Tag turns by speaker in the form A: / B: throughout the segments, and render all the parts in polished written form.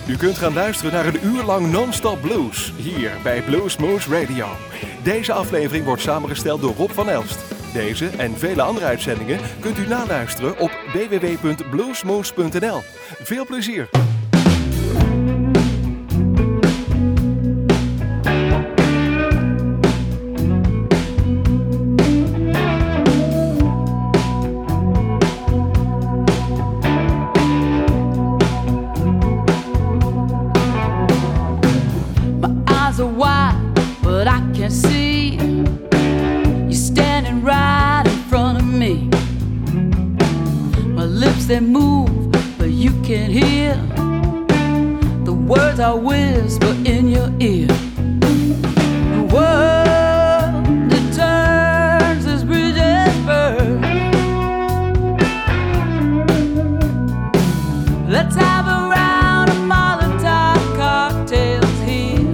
A: U kunt gaan luisteren naar een uur lang non-stop blues, hier bij Bluesmoose Radio. Deze aflevering wordt samengesteld door Rob van Elst. Deze en vele andere uitzendingen kunt u naluisteren op www.bluesmoose.nl. Veel plezier!
B: They move, but you can't hear. The words I whisper in your ear. The world, it turns as bridges burn. Let's have a round of Molotov cocktails here.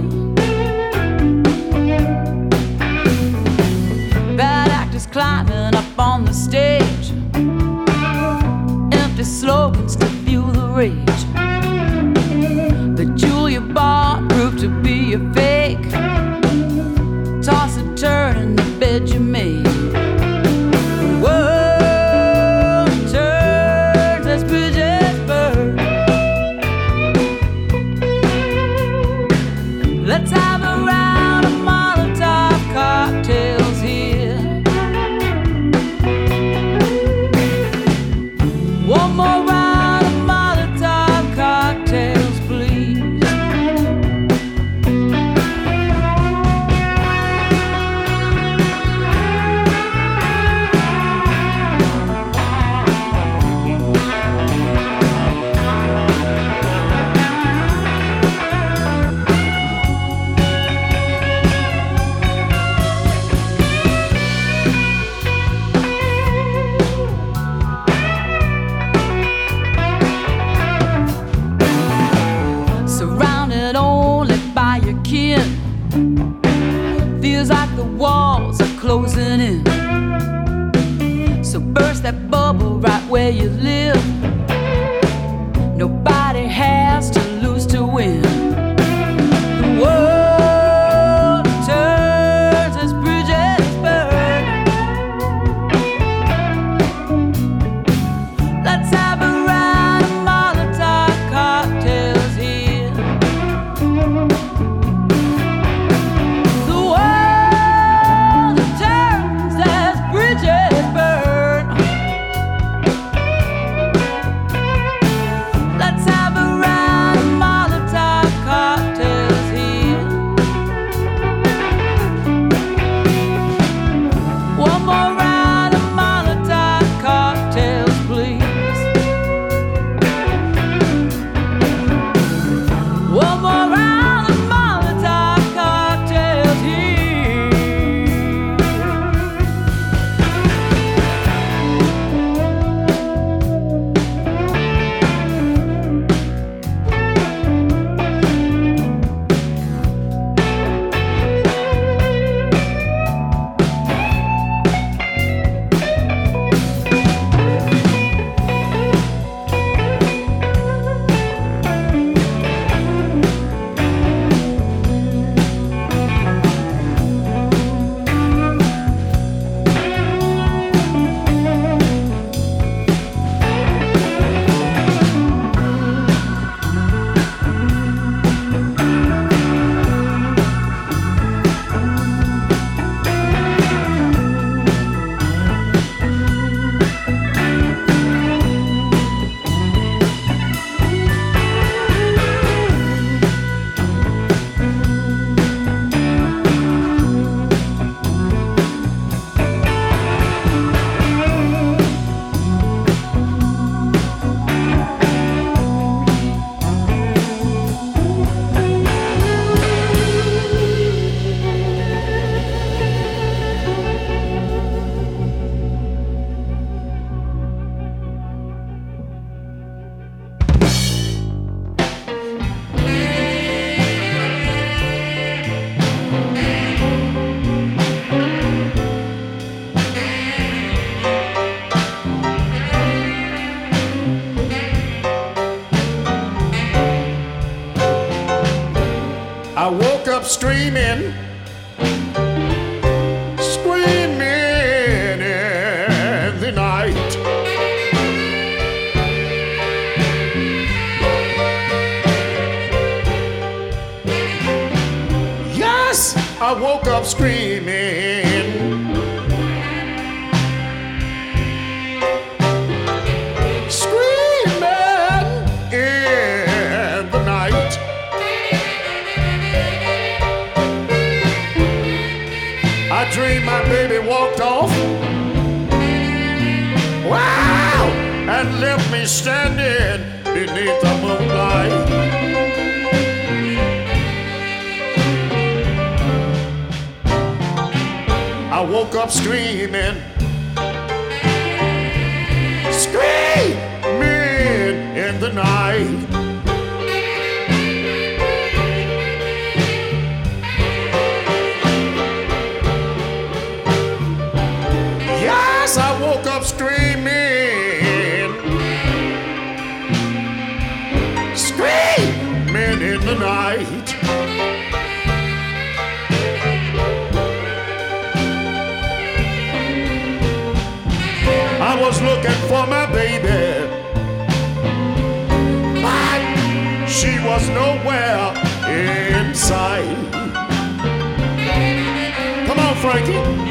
B: Bad actors climbing up on the stage. Slogans to fuel the rage. The Julia Bart proved to be a fake. Toss and turn in the bed you made. The world turns as bridges burn. Let's have a round of Molotov cocktails here. One more round of Molotov cocktails, please. Surrounded only by your kin, feels like the walls are closing in. So burst that bubble right where you live. Nobody has to lose to win. The world turns as bridges burn. Let's have a round of Molotov cocktails here. The world turns as bridges burn.
C: up screaming, screaming in the night. Yes, I woke up screaming. I dreamed my baby walked off, wow, and left me standing beneath the moonlight. I woke up screaming, screaming in the night. I woke up screaming, screaming in the night. I was looking for my baby, but she was nowhere in sight. Come on, Frankie.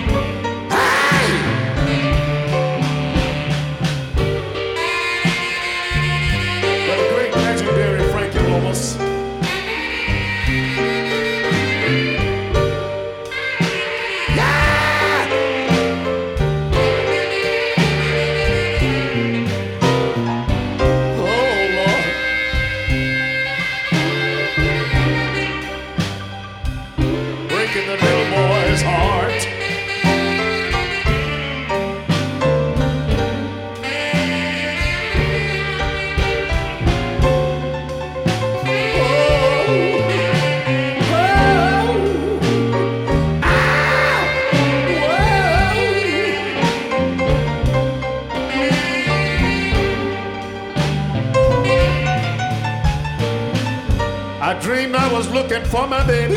C: I dreamed I was looking for my baby,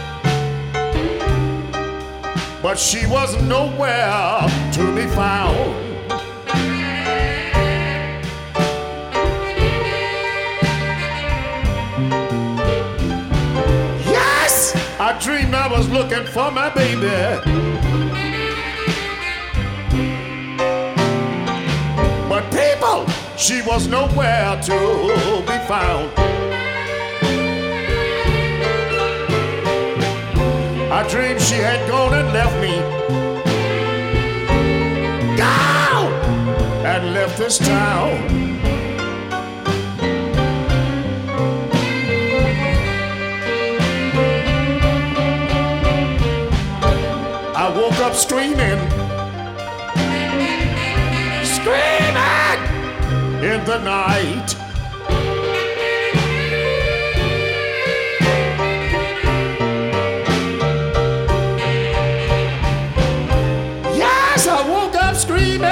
C: but she was nowhere to be found. Yes, I dreamed I was looking for my baby, but people, she was nowhere to be found. I dreamed she had gone and left me, gone and left this town. I woke up screaming, screaming in the night. I woke up screaming,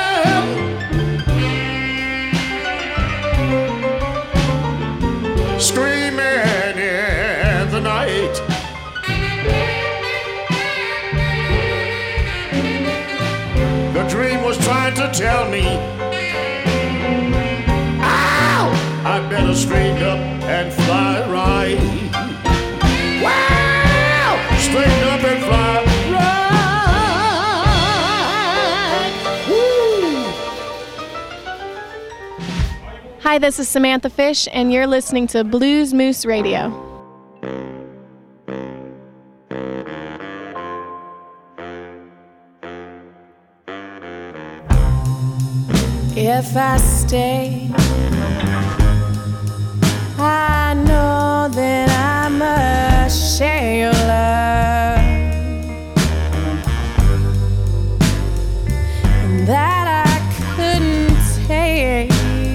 C: screaming in the night. The dream was trying to tell me, ow, I better straighten up and fly right. Wow, straighten up and fly right.
D: Hi, this is Samantha Fish, and you're listening to Blues Moose Radio.
E: If I stay, I know that I must share your love, and that I couldn't take.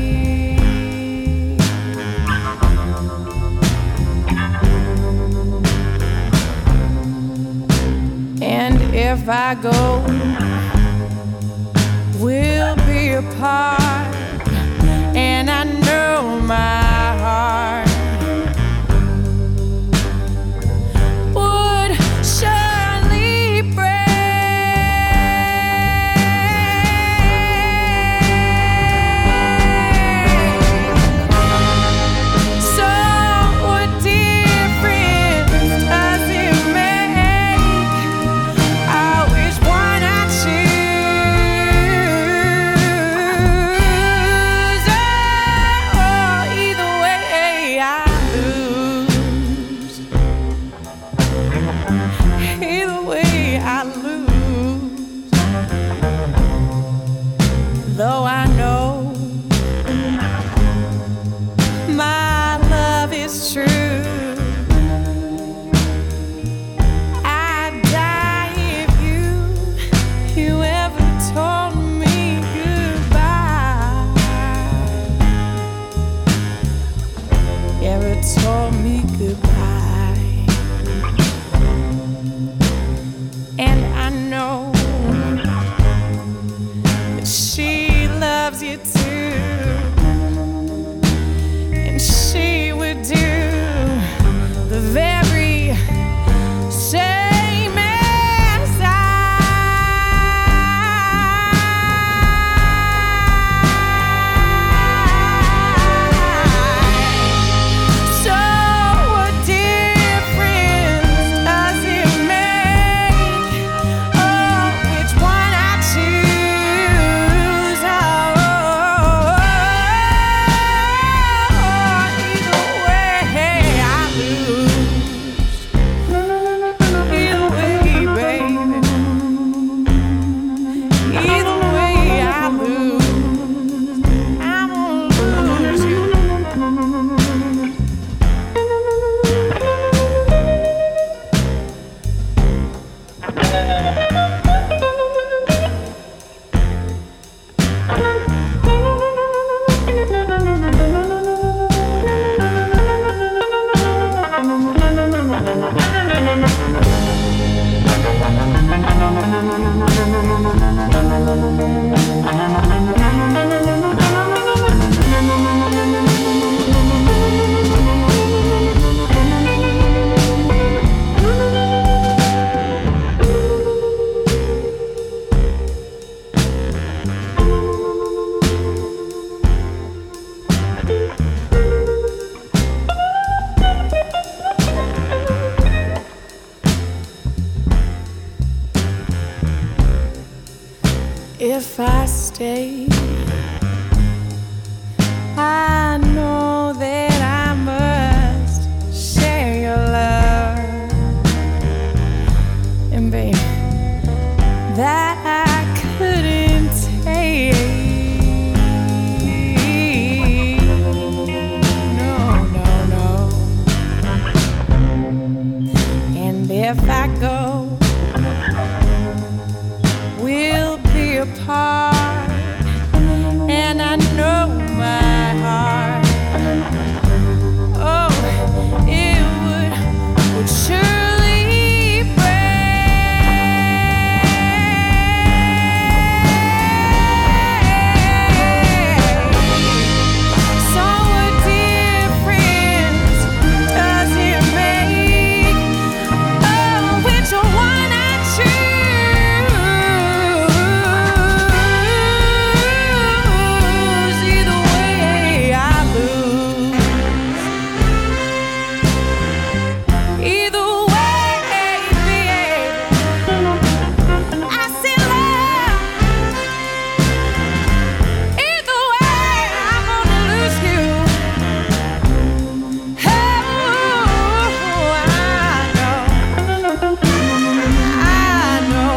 E: And if I go, we'll be apart, and I know my heart Oh, I know my love is true. I'd die if you ever told me goodbye. Ever told me goodbye. And I know that she loves you too, and she would do the very same as I. So what difference does it make? Oh, which one I choose? Oh, either way I lose. Either way, baby. Either way I lose. I'm gonna lose you. If I stay, I know that I must share your love. And baby, that I couldn't take. No, no, no. And if I go, we'll be apart, and I know my heart, oh, it would surely break. So what difference does it make? Oh, which one I choose? Either way I lose. Either way, baby, I see love. Either way, I'm gonna lose you. Oh, I know I'm gonna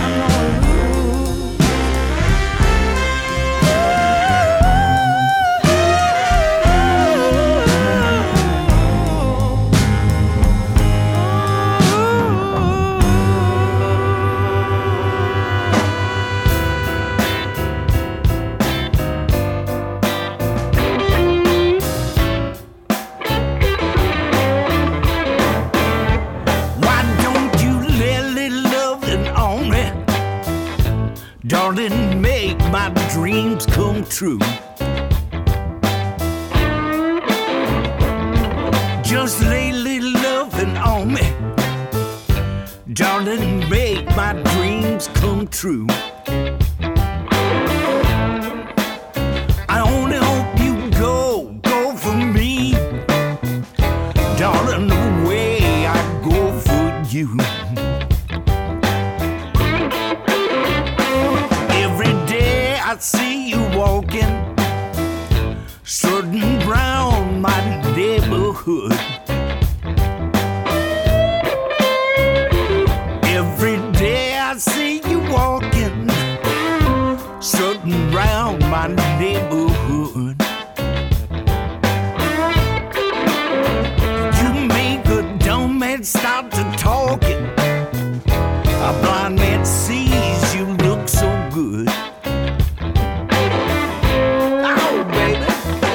F: Why don't you let little loving on me? Darling, make my dreams come true. Just lay little loving on me. Darling, make my dreams come true. I only hope you go for me. Darling, the way I go for you. Every day I see you walking, strutting round my neighborhood. Every day I see you walking, strutting round my my neighborhood. You make a dumb man stop to talking. A blind man sees you look so good. Oh, baby.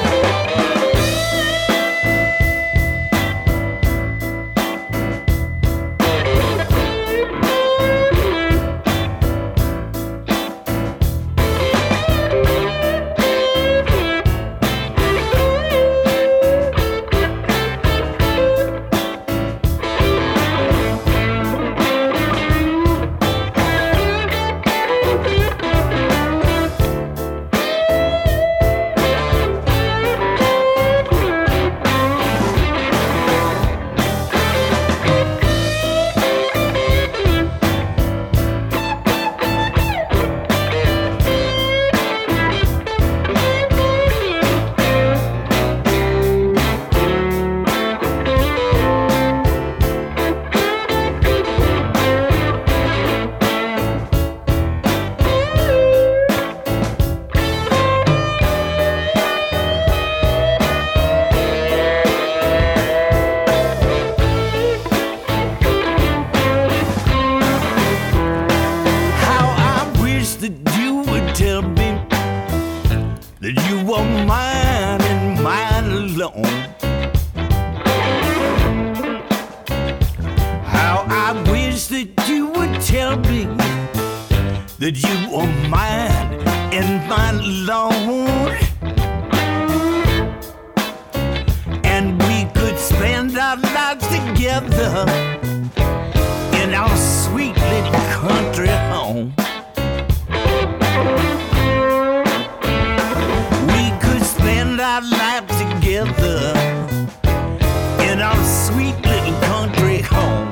F: That you are mine and mine alone, and we could spend our lives together in our sweet little country home. We could spend our lives together in our sweet little country home.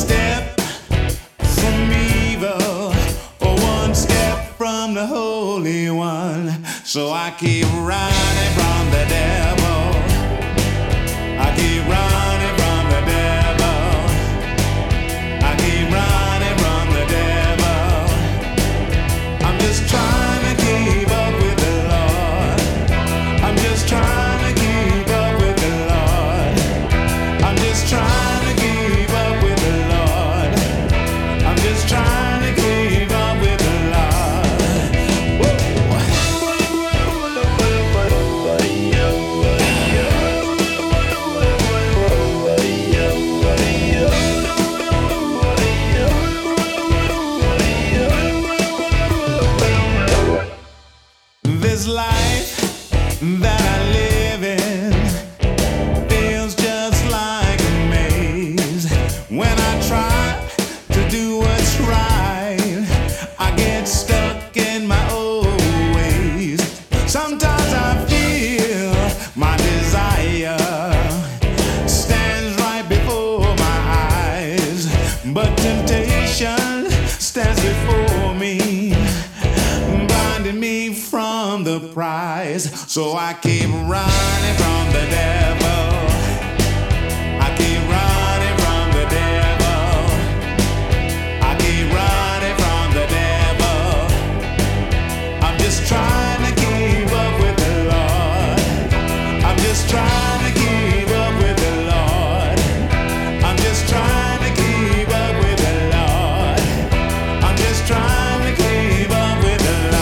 F: step from evil, or one step from the Holy One. So I keep running from the devil. I keep running from the devil. I keep running from the devil. I'm just trying to keep up with the Lord. I'm just trying to keep up with the Lord. I'm just trying to keep up with the Lord. I'm just trying to keep up with the Lord. This life that I live in feels just like a maze. When I try to do what's right, I get stuck in my old ways. Sometimes I feel my desire stands right before my eyes, but temptation stands before me, blinding me from the prize. So I keep running from the devil. I keep running from the devil. I keep running from the devil. I'm just trying to keep up with the Lord. I'm just trying to keep up with the Lord. I'm just trying to keep up with the Lord. I'm just trying to keep up with the Lord.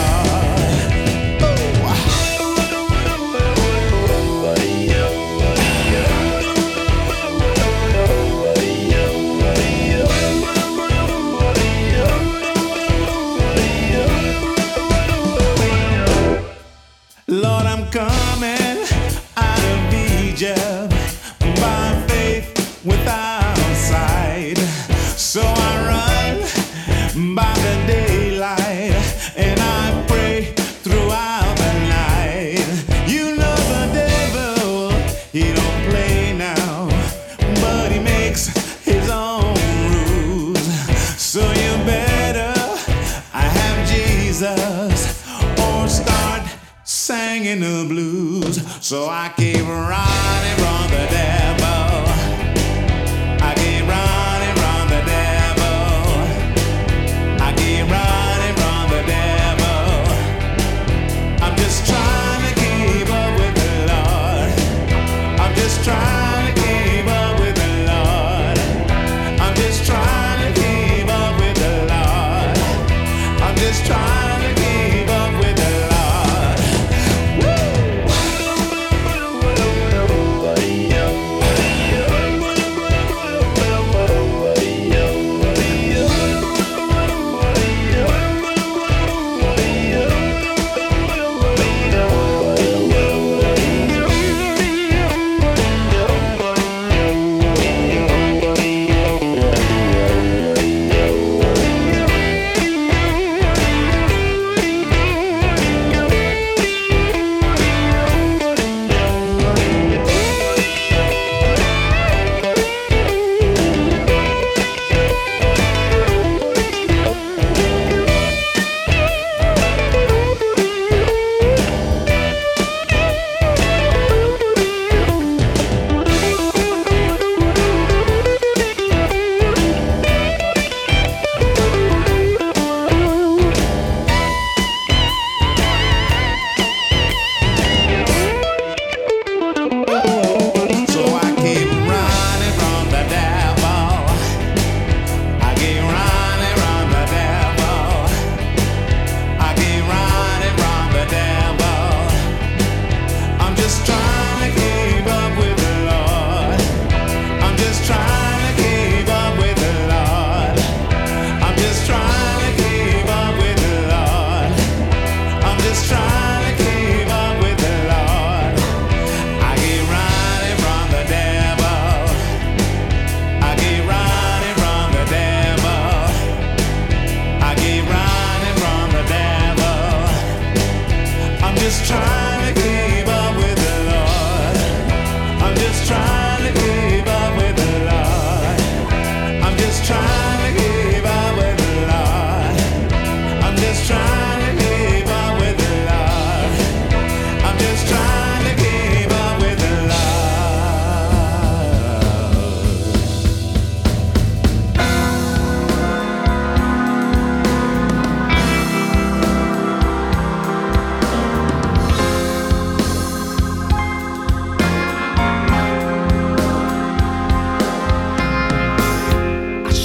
F: Lord, I'm coming out of Egypt by faith without sight. So I run by the daylight and I pray throughout the night. You know the devil, he don't play now, but he makes his own rules. So you better have Jesus or start singing the blues. So I keep running from the devil. I keep running from the devil. I keep running from the devil. I'm just trying to keep up with the Lord. I'm just trying to keep up with the Lord. I'm just trying to keep up with the Lord. I'm just trying to keep up with the Lord. Woo!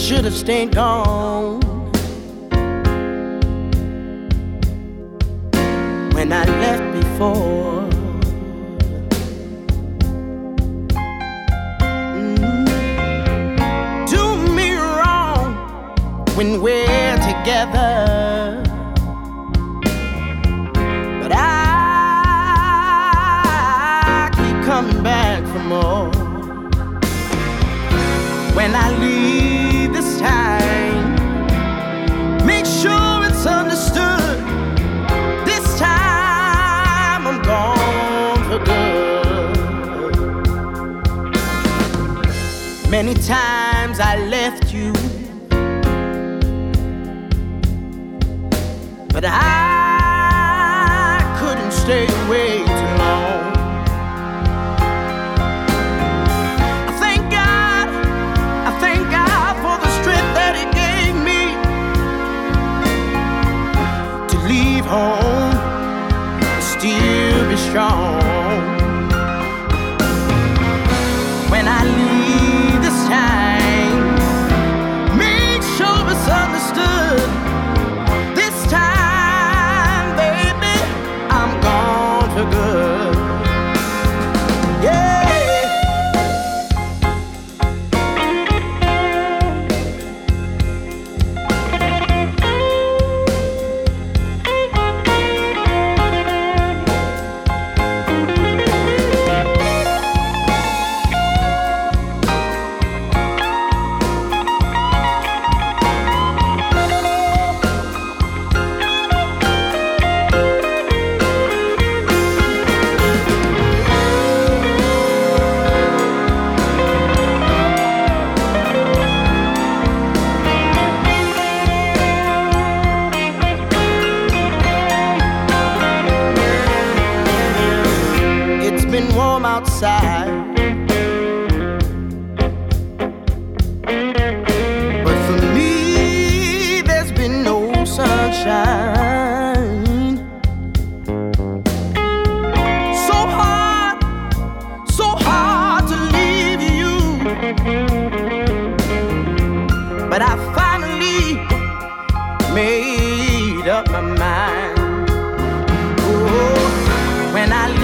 G: should have stayed gone when I left before. Do me wrong when we're together, but I keep coming back for more. When I leave this time, make sure it's understood. This time I'm gone for good. Many times I left you, but I couldn't stay away too long. Thank God for the strength that He gave me to leave home and still be strong. When I leave this time, make sure it's understood. This time, baby, I'm gone for good. Yeah. Outside, but for me there's been no sunshine. So hard to leave you, but I finally made up my mind. Oh, when I leave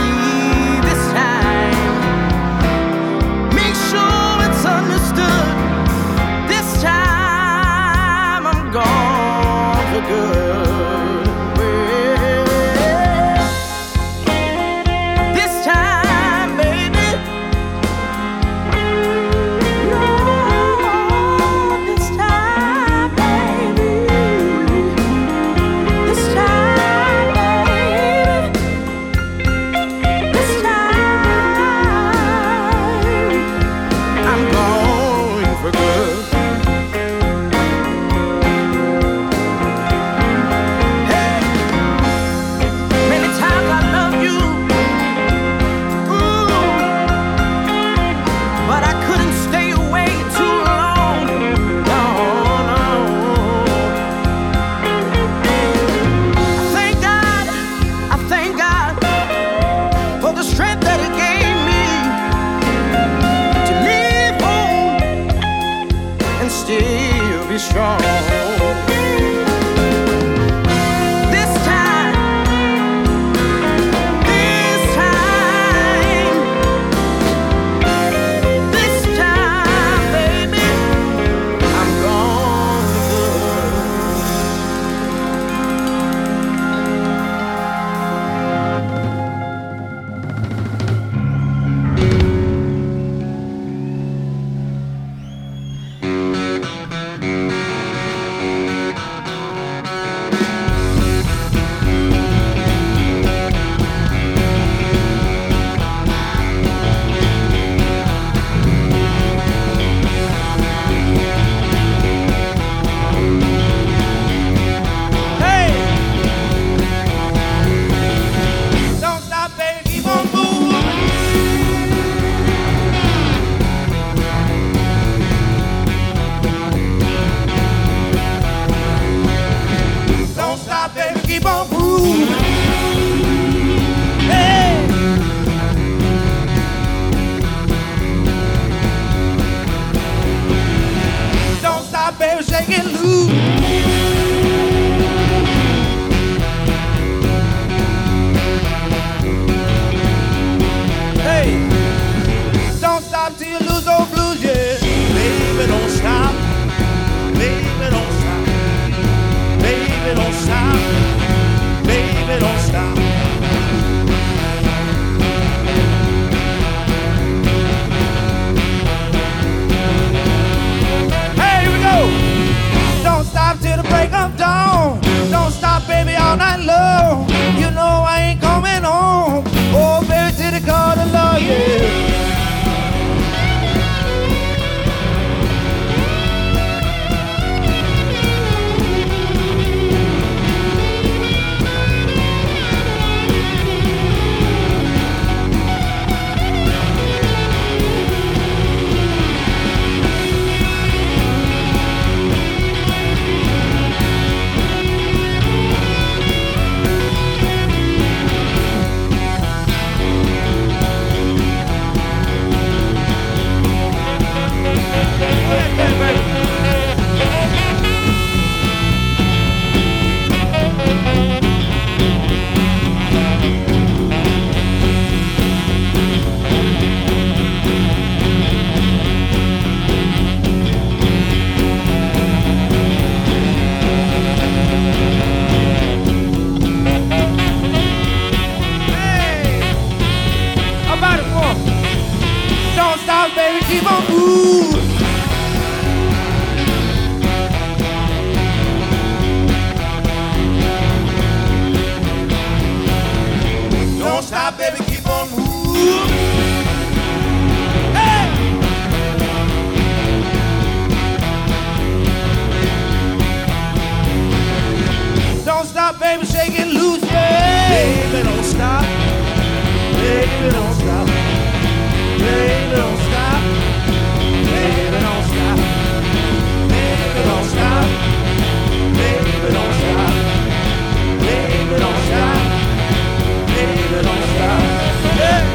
G: understood. This time I'm gone for good. Well, this time, baby, no, this time, baby, this time, baby, this time I'm going for good. Hey, many times I love you, ooh, but I couldn't stay away too long. No, no. I thank God for the strength that He gave me to live home and still be strong. This time, baby, I'm gone good. stop, baby, shake it loose, yeah. Baby, don't stop. Baby, don't stop. Baby, don't stop. Baby, don't stop. Baby, don't stop. Baby, don't stop. Baby, don't stop. Baby, don't stop. Yeah.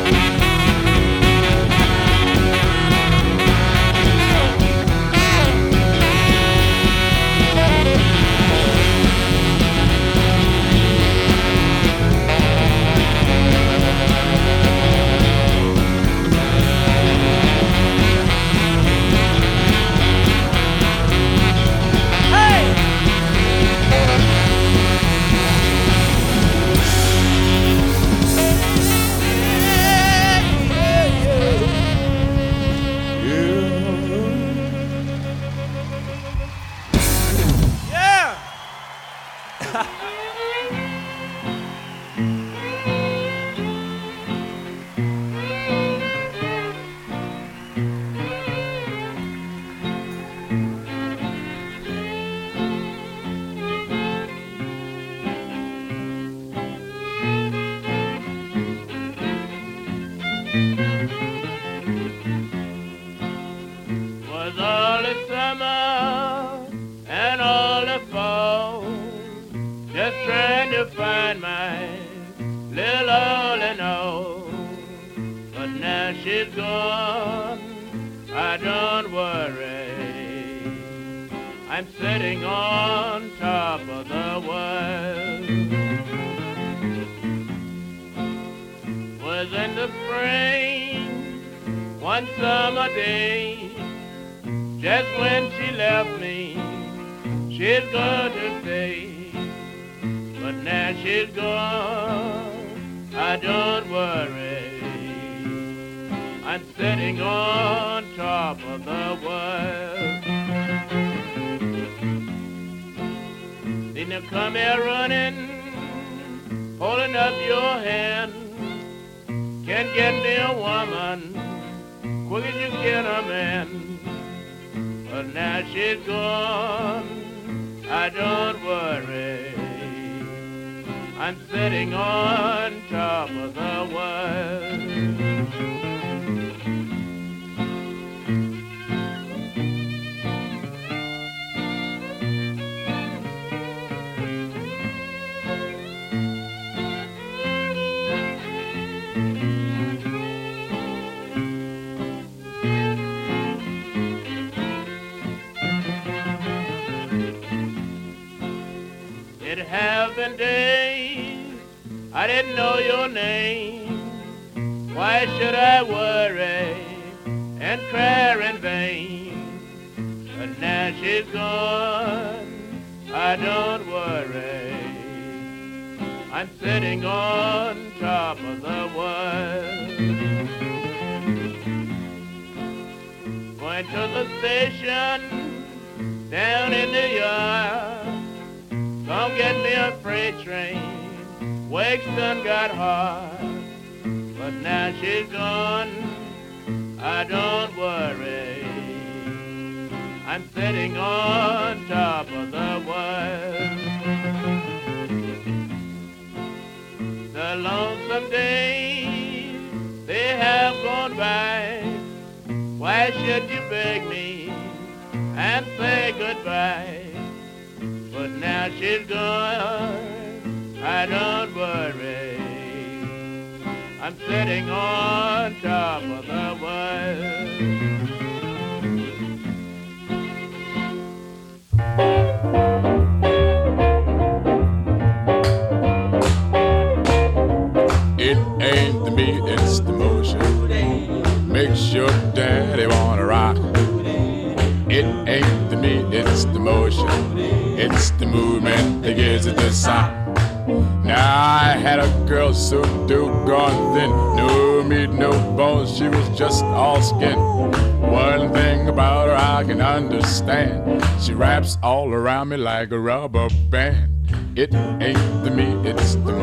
H: She wraps all around me like a rubber band. It ain't the meat, it's the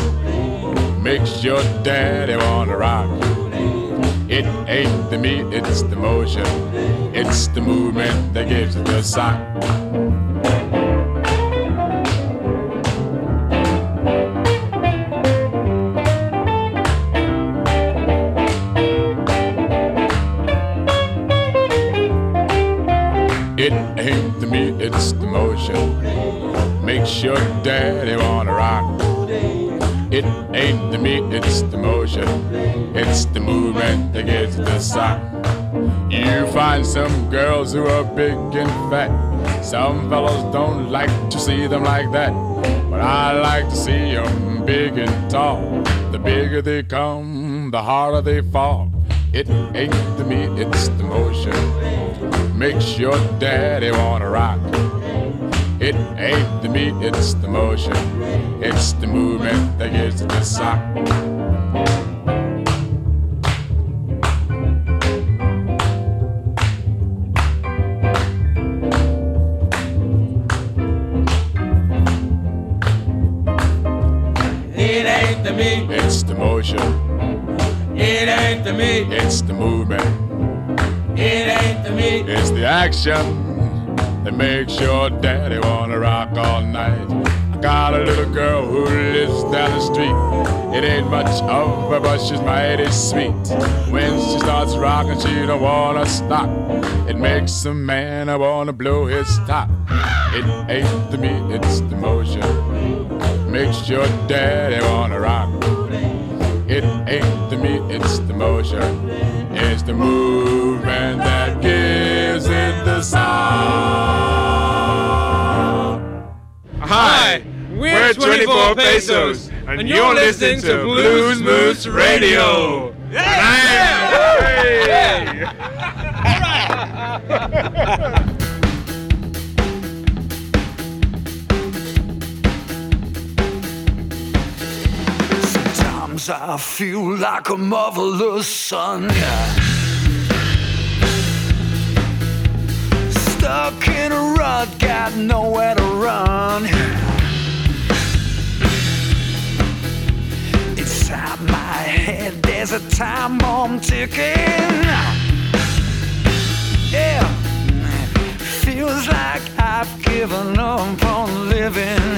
H: motion. Makes your daddy wanna rock. It ain't the meat, it's the motion. It's the movement that gives it the sign. me, it's the motion. Makes your daddy wanna rock. It ain't the me, it's the motion. It's the movement that gets the sock. You find some girls who are big and fat. Some fellows don't like to see them like that. But I like to see them big and tall. The bigger they come, the harder they fall. It ain't the me, it's the motion. Makes your daddy wanna rock. It ain't the me, it's the motion. It's the movement that gives it the sock.
I: It ain't the me,
H: it's the motion.
I: It ain't the me,
H: it's the movement.
I: It ain't the me,
H: it's the action that makes your daddy wanna rock all night. I got a little girl who lives down the street. It ain't much of her, but she's mighty sweet. When she starts rocking, she don't wanna stop. It makes a man wanna blow his top. It ain't the me, it's the motion. Makes your daddy wanna rock. It ain't the me, it's the motion. It's the movement that gives it the sound.
J: Hi, we're 24 Pesos, and you're listening to Blues Moose Radio.
K: Sometimes I feel like a motherless son, yeah. Stuck in a rut, got nowhere to run. Inside my head, there's a time bomb ticking. Yeah, feels like I've given up on living.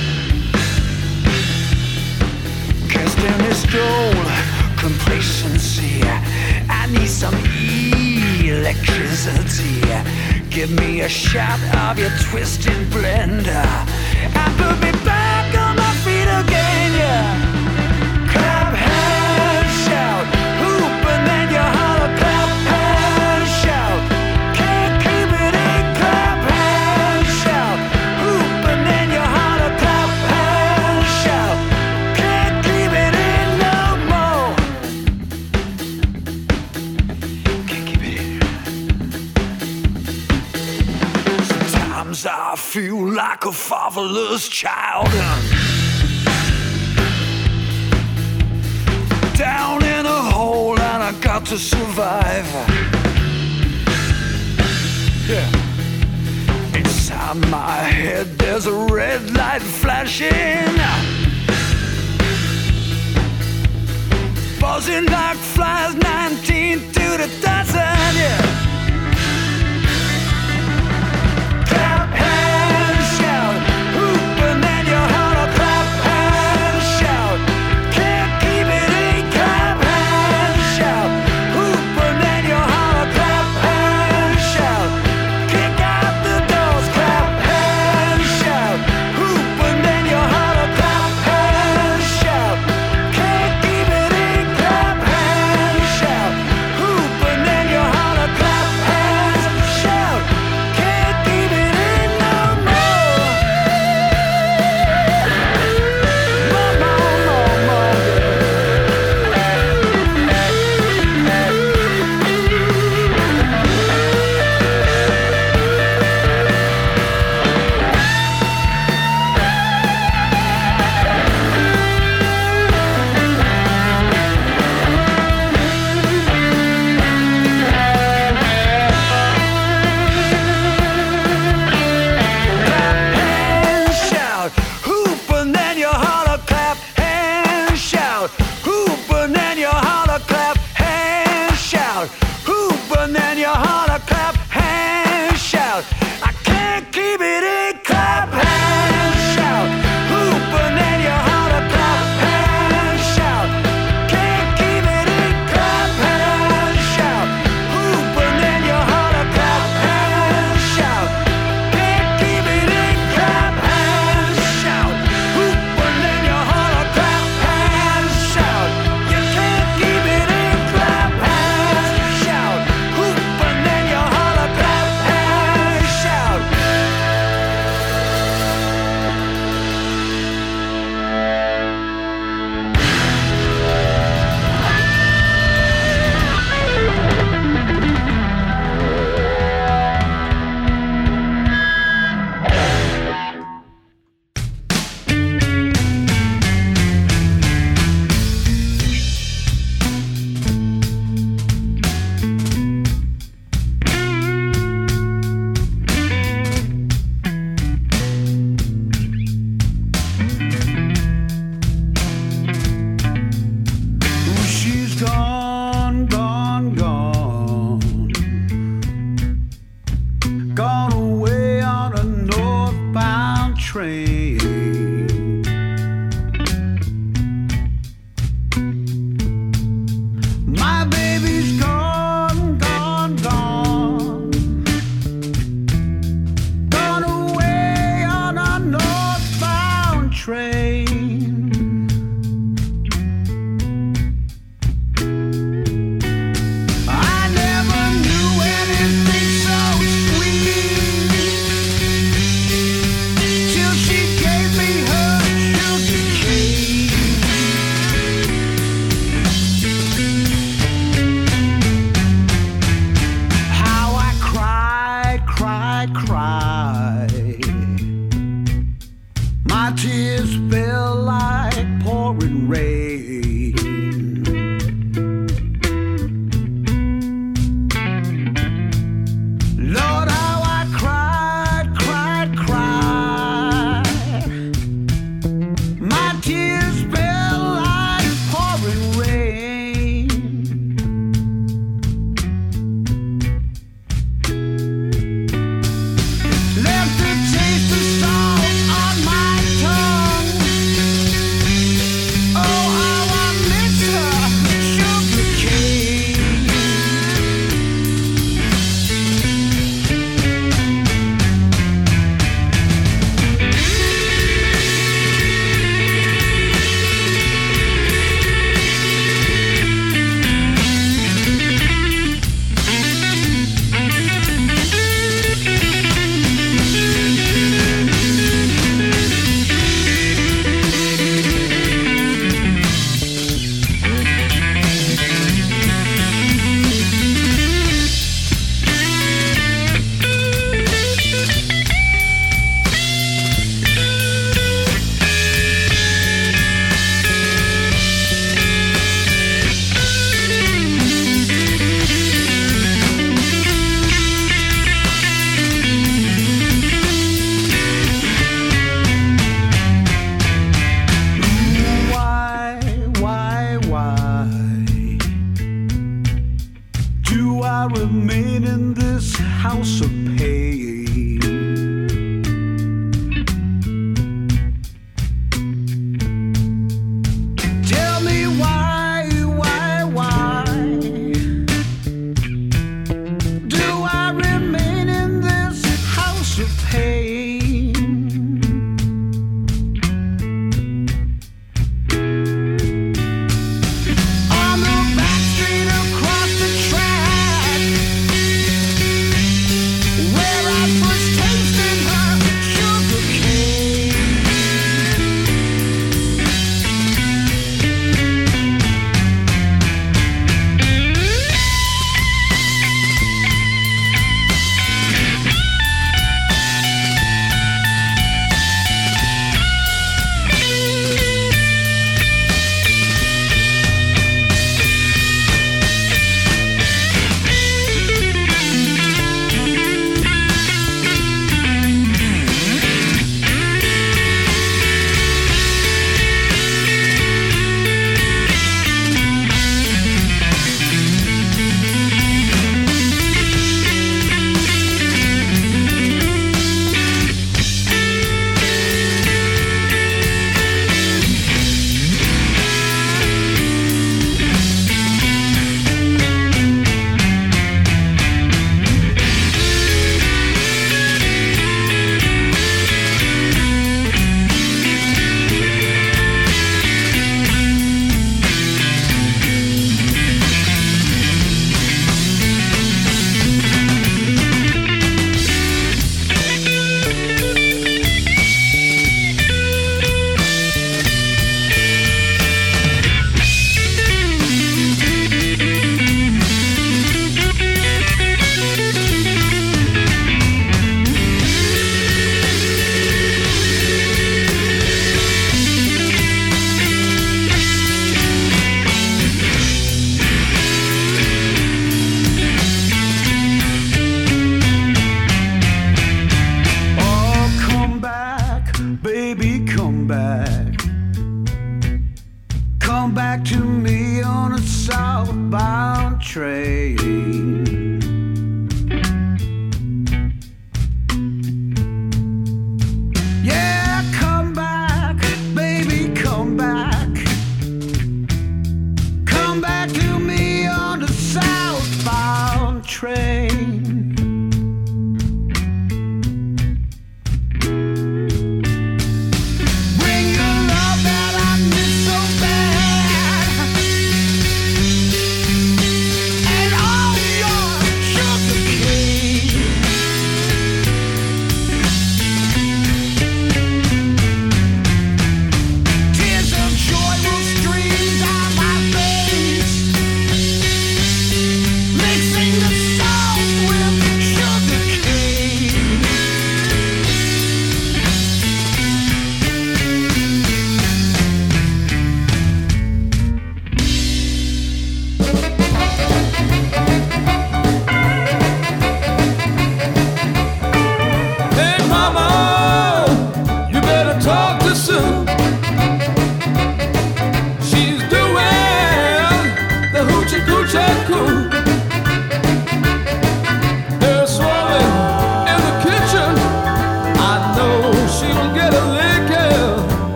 K: Cast in this cold complacency, I need some electricity. Give me a shot of your twisted blender and put me back on my feet again, yeah. Clap hands, shout, hoop and then you holler. Clap hands, shout, can't keep it in. Clap hands, shout, hoop and then you holler. Clap hands, shout, can't keep it in no more. Can't keep it in. Sometimes I feel like a fatherless child, down in a hole and I got to survive. Yeah. Inside my head there's a red light flashing, buzzing like flies, 19 to the dozen, yeah. Clap hands, shout, hoop and then you holler. Clap hands, shout, can't keep it in. Clap hands, shout, hoop and then you holler. Clap hands, shout, kick out the doors. Clap hands, shout, hoop and then you holler. Clap hands, shout, can't keep it in. Clap hands, shout, hoop and then you holler. Clap
L: eye. My tears fell like pouring rain. Lord, how I cried, cried, cried. My tears fell like pouring rain. Left a taste of salt on my tongue. Oh, how I miss her, sugar cane.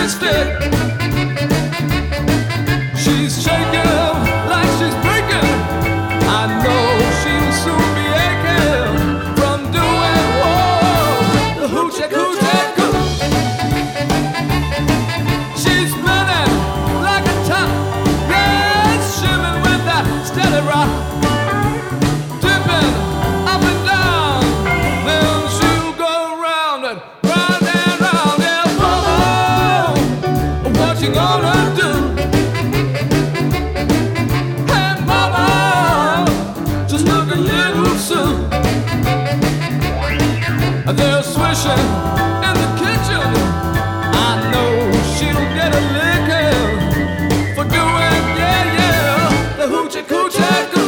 M: twisted. She's shaking like she's breaking. I know she'll soon be aching from doing the hoochie coochie coo. She's spinning like a top, yes, shimming with that steady rock, dipping up and down. Then she'll go round and round and round. Yeah, mama, what you gonna do? Hey, mama, just look a little soon. They're swishing in the kitchen. I know she'll get a licking for doing, yeah, yeah, the hoochie coochie coo.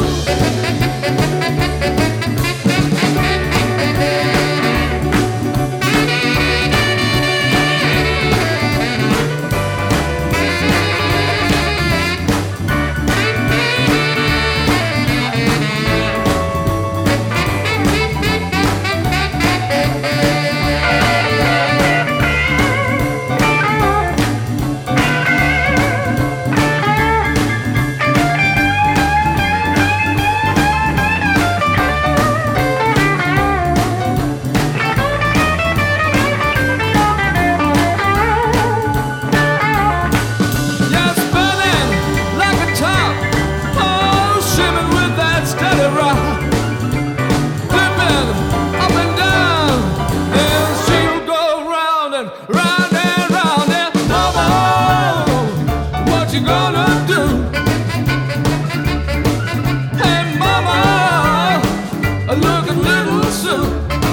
M: Yeah, spinning like a top, oh, shimming with that steady rock, dipping up and down, and she'll go round and round and round. And mama, what you gonna do? Hey, mama, look a little soon.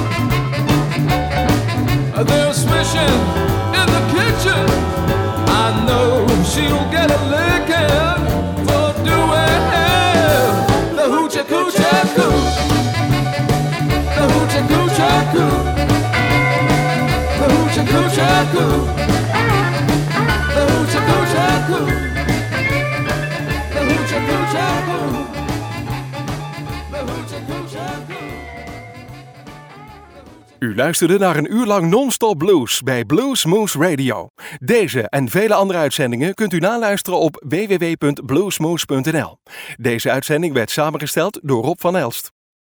M: They're swishing in the kitchen. I know she'll get a licking for doing the hoochie coochie coo. The hoochie coochie coo. The hoochie coochie coo. The hoochie coochie coo. The hoochie coochie coo. The hoochie coochie coo.
A: U luisterde naar een uur lang non-stop blues bij Blues Moose Radio. Deze en vele andere uitzendingen kunt u naluisteren op www.bluesmoose.nl. Deze uitzending werd samengesteld door Rob van Elst.